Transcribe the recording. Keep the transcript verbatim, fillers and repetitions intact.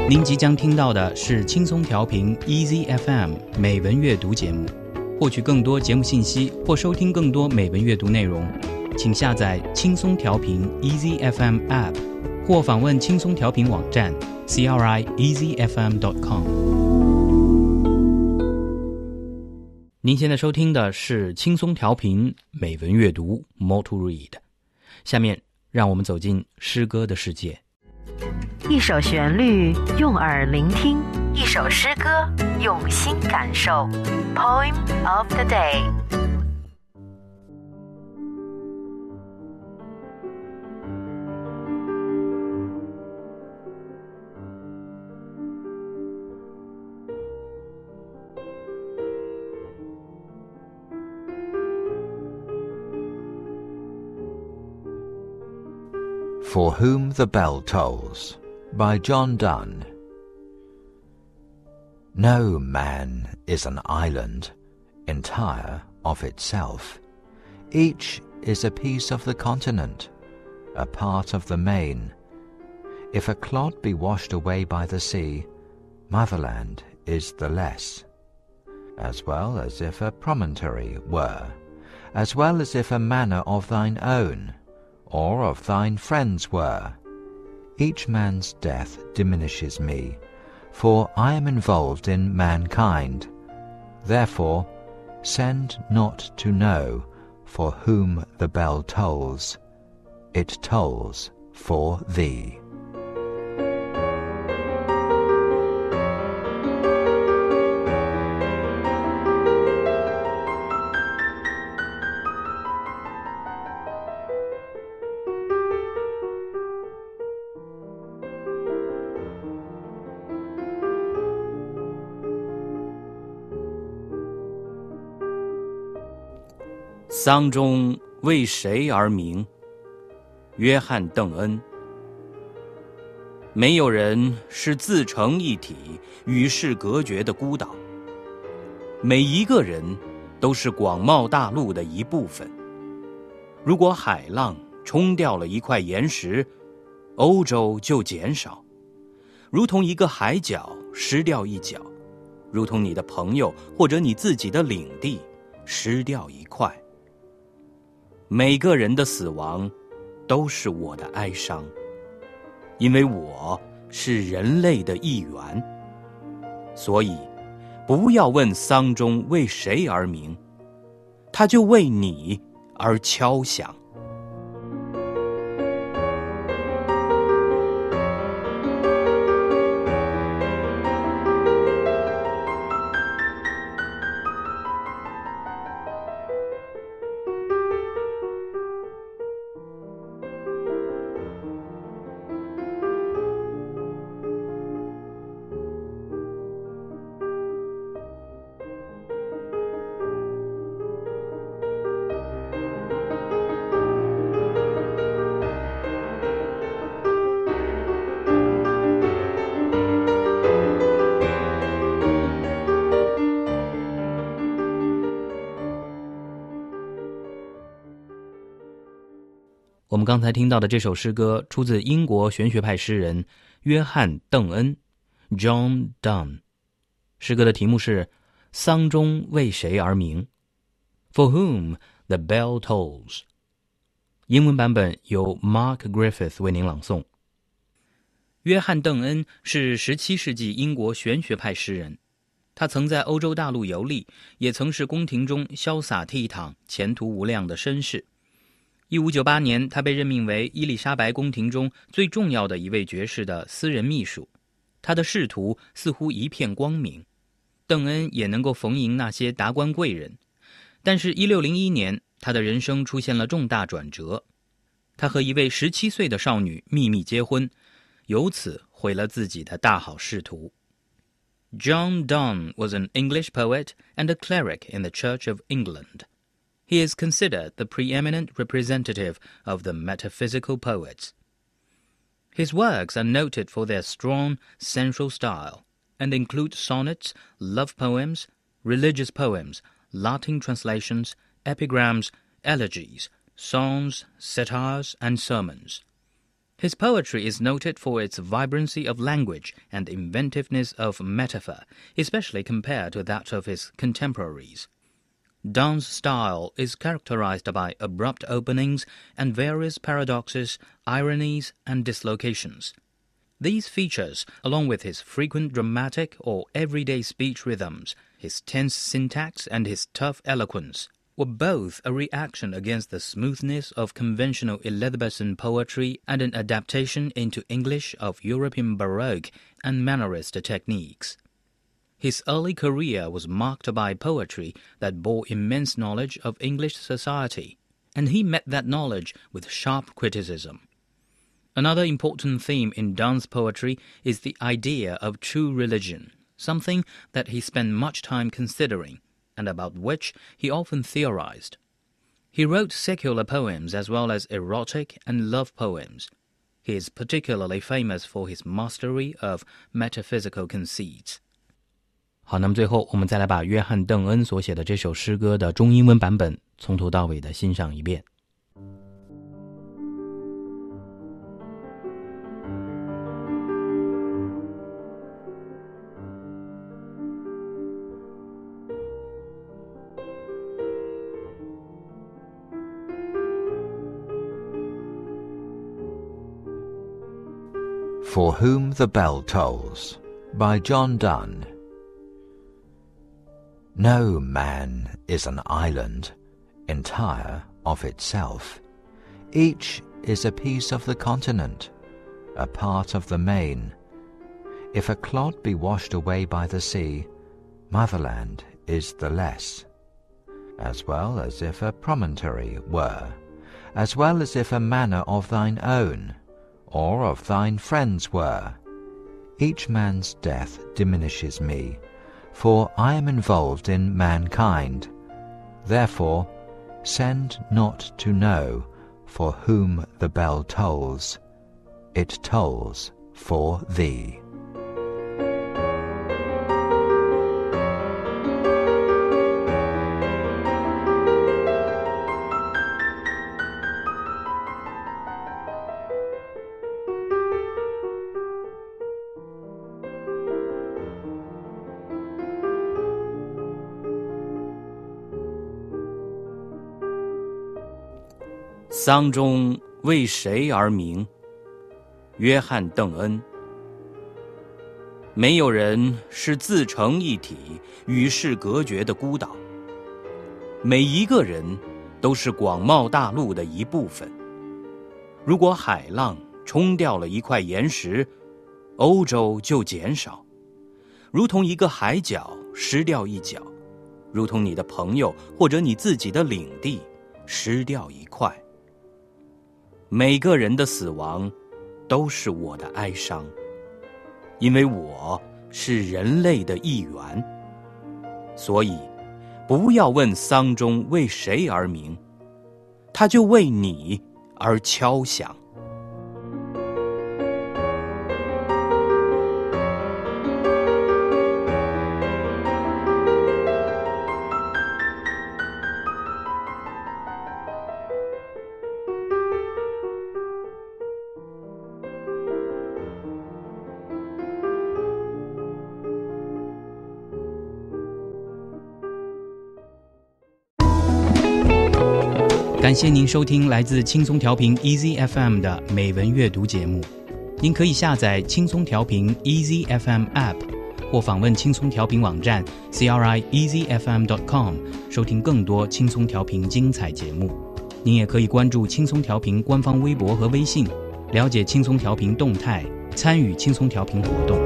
您即将听到的是轻松调频 Easy F M 美文阅读节目。获取更多节目信息或收听更多美文阅读内容，请下载轻松调频 Easy F M App 或访问轻松调频网站 c r i easy f m dot com。 您现在收听的是轻松调频美文阅读 More to Read。 下面让我们走进诗歌的世界。 一首旋律用耳聆听，一首诗歌用心感受。 Poem of the day。 For Whom the Bell Tolls by John Donne. No man is an island, entire of itself. Each is a piece of the continent, a part of the main. If a clod be washed away by the sea, motherland is the less. As well as if a promontory were, as well as if a manor of thine own, or of thine friends were. Each man's death diminishes me, for I am involved in mankind. Therefore, send not to know for whom the bell tolls. It tolls for thee. 《丧钟为谁而鸣》约翰·邓恩。没有人是自成一体、与世隔绝的孤岛，每一个人都是广袤大陆的一部分。如果海浪冲掉了一块岩石，欧洲就减少，如同一个海角失掉一角，如同你的朋友或者你自己的领地失掉一块。每个人的死亡都是我的哀伤，因为我是人类的一员。所以不要问丧钟为谁而鸣，它就为你而敲响。我们刚才听到的这首诗歌出自英国玄学派诗人约翰·邓恩 John Donne。 诗歌的题目是《丧钟为谁而鸣》 For whom the bell tolls。 英文版本由 Mark Griffith 为您朗诵。约翰·邓恩是十七世纪英国玄学派诗人，他曾在欧洲大陆游历，也曾是宫廷中潇洒倜傥、前途无量的绅士。一五九八年，他被任命为伊丽莎白宫廷中最重要的一位爵士的私人秘书，他的仕途似乎一片光明。邓恩也能够逢迎那些达官贵人，但是一六零一年，他的人生出现了重大转折。他和一位十七岁的少女秘密结婚，由此毁了自己的大好仕途。John Donne was an English poet and a cleric in the Church of England.He is considered the preeminent representative of the metaphysical poets. His works are noted for their strong, sensual style and include sonnets, love poems, religious poems, Latin translations, epigrams, elegies, songs, satires, and sermons. His poetry is noted for its vibrancy of language and inventiveness of metaphor, especially compared to that of his contemporaries. Donne's style is characterized by abrupt openings and various paradoxes, ironies, and dislocations. These features, along with his frequent dramatic or everyday speech rhythms, his tense syntax, and his tough eloquence, were both a reaction against the smoothness of conventional Elizabethan poetry and an adaptation into English of European Baroque and Mannerist techniques. His early career was marked by poetry that bore immense knowledge of English society, and he met that knowledge with sharp criticism. Another important theme in Donne's poetry is the idea of true religion, something that he spent much time considering, and about which he often theorized. He wrote secular poems as well as erotic and love poems. He is particularly famous for his mastery of metaphysical conceits. 好，那么最后我们再来把约翰·邓恩所写的这首诗歌的中英文版本从头到尾的欣赏一遍。 For Whom the Bell Tolls by John Donne. No man is an island, entire of itself. Each is a piece of the continent, a part of the main. If a clod be washed away by the sea, motherland is the less. As well as if a promontory were, as well as if a manor of thine own, or of thine friends were. Each man's death diminishes me, for I am involved in mankind. Therefore, send not to know for whom the bell tolls. It tolls for thee. 《丧钟为谁而鸣》约翰·邓恩。没有人是自成一体、与世隔绝的孤岛，每一个人都是广袤大陆的一部分。如果海浪冲掉了一块岩石，欧洲就减少，如同一个海角失掉一角，如同你的朋友或者你自己的领地失掉一块。每个人的死亡都是我的哀伤，因为我是人类的一员。所以不要问丧钟为谁而鸣，它就为你而敲响。感谢您收听来自轻松调频 Easy F M 的美文阅读节目。您可以下载轻松调频 Easy F M App 或访问轻松调频网站 c r i easy f m dot com 收听更多轻松调频精彩节目。您也可以关注轻松调频官方微博和微信，了解轻松调频动态，参与轻松调频活动。